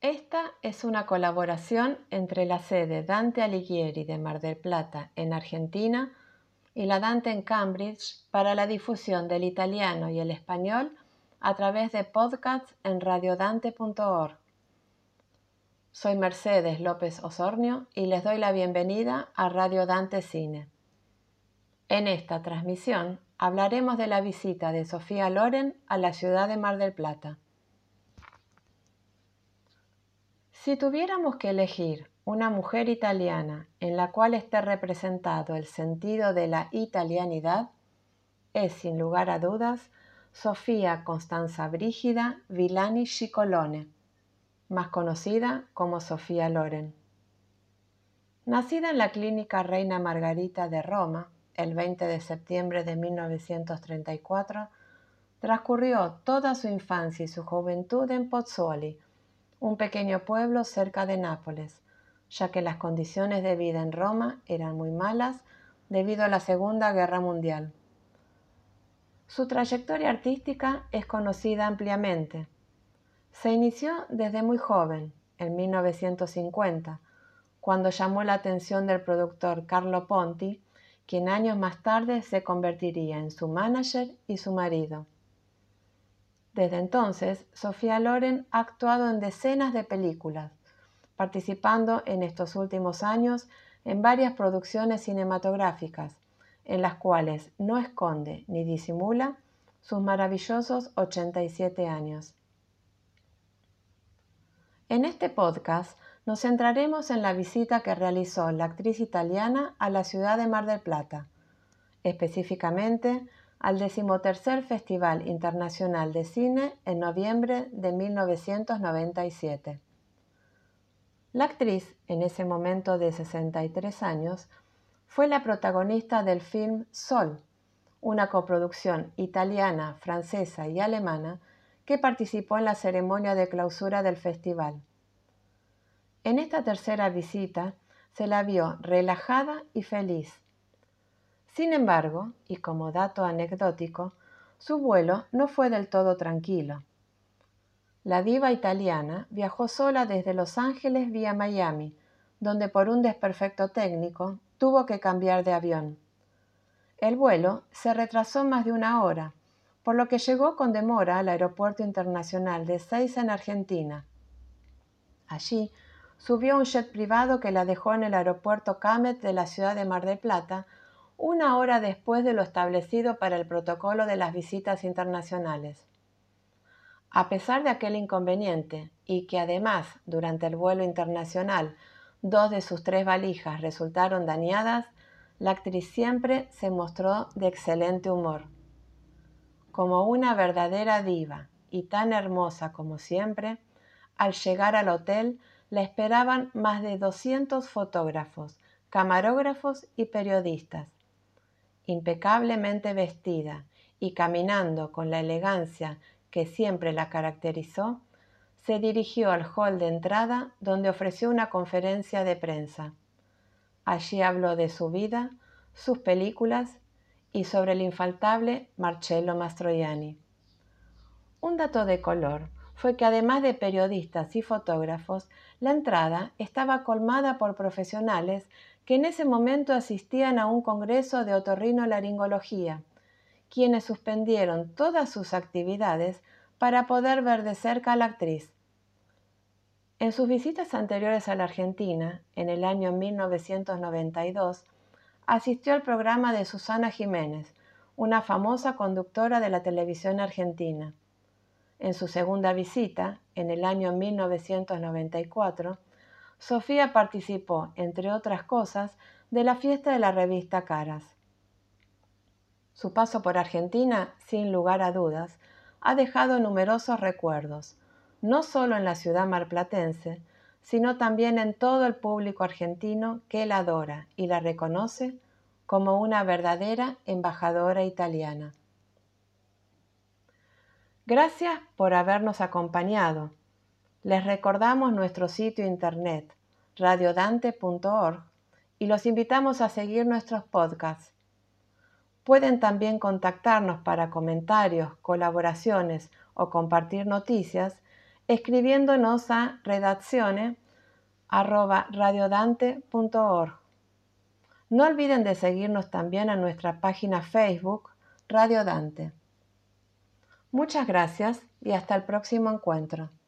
Esta es una colaboración entre la sede Dante Alighieri de Mar del Plata, en Argentina, y la Dante en Cambridge para la difusión del italiano y el español a través de podcasts en radiodante.org. Soy Mercedes López Osornio y les doy la bienvenida a Radio Dante Cine. En esta transmisión hablaremos de la visita de Sofía Loren a la ciudad de Mar del Plata. Si tuviéramos que elegir una mujer italiana en la cual esté representado el sentido de la italianidad, es sin lugar a dudas Sofia Costanza Brigida Villani Scicolone, más conocida como Sofía Loren. Nacida en la Clínica Reina Margarita de Roma el 20 de septiembre de 1934, transcurrió toda su infancia y su juventud en Pozzuoli, un pequeño pueblo cerca de Nápoles, ya que las condiciones de vida en Roma eran muy malas debido a la Segunda Guerra Mundial. Su trayectoria artística es conocida ampliamente. Se inició desde muy joven, en 1950, cuando llamó la atención del productor Carlo Ponti, quien años más tarde se convertiría en su manager y su marido. Desde entonces, Sofía Loren ha actuado en decenas de películas, participando en estos últimos años en varias producciones cinematográficas, en las cuales no esconde ni disimula sus maravillosos 87 años. En este podcast nos centraremos en la visita que realizó la actriz italiana a la ciudad de Mar del Plata, específicamente al 13º Festival Internacional de Cine en noviembre de 1997. La actriz, en ese momento de 63 años, fue la protagonista del film Sol, una coproducción italiana, francesa y alemana que participó en la ceremonia de clausura del festival. En esta tercera visita se la vio relajada y feliz. Sin embargo, y como dato anecdótico, su vuelo no fue del todo tranquilo. La diva italiana viajó sola desde Los Ángeles vía Miami, donde por un desperfecto técnico tuvo que cambiar de avión. El vuelo se retrasó más de una hora, por lo que llegó con demora al Aeropuerto Internacional de Ezeiza en Argentina. Allí subió a un jet privado que la dejó en el aeropuerto Camet de la ciudad de Mar del Plata, una hora después de lo establecido para el protocolo de las visitas internacionales. A pesar de aquel inconveniente, y que además, durante el vuelo internacional, 2 de sus 3 valijas resultaron dañadas, la actriz siempre se mostró de excelente humor. Como una verdadera diva y tan hermosa como siempre, al llegar al hotel la esperaban más de 200 fotógrafos, camarógrafos y periodistas. Impecablemente vestida y caminando con la elegancia que siempre la caracterizó, se dirigió al hall de entrada donde ofreció una conferencia de prensa. Allí habló de su vida, sus películas y sobre el infaltable Marcello Mastroianni. Un dato de color fue que además de periodistas y fotógrafos, la entrada estaba colmada por profesionales que en ese momento asistían a un congreso de otorrinolaringología, quienes suspendieron todas sus actividades para poder ver de cerca a la actriz. En sus visitas anteriores a la Argentina, en el año 1992, asistió al programa de Susana Jiménez, una famosa conductora de la televisión argentina. En su segunda visita, en el año 1994, Sofía participó, entre otras cosas, de la fiesta de la revista Caras. Su paso por Argentina, sin lugar a dudas, ha dejado numerosos recuerdos, no solo en la ciudad marplatense, sino también en todo el público argentino que la adora y la reconoce como una verdadera embajadora italiana. Gracias por habernos acompañado. Les recordamos nuestro sitio internet radiodante.org y los invitamos a seguir nuestros podcasts. Pueden también contactarnos para comentarios, colaboraciones o compartir noticias escribiéndonos a redacciones@radiodante.org. No olviden de seguirnos también en nuestra página Facebook Radio Dante. Muchas gracias y hasta el próximo encuentro.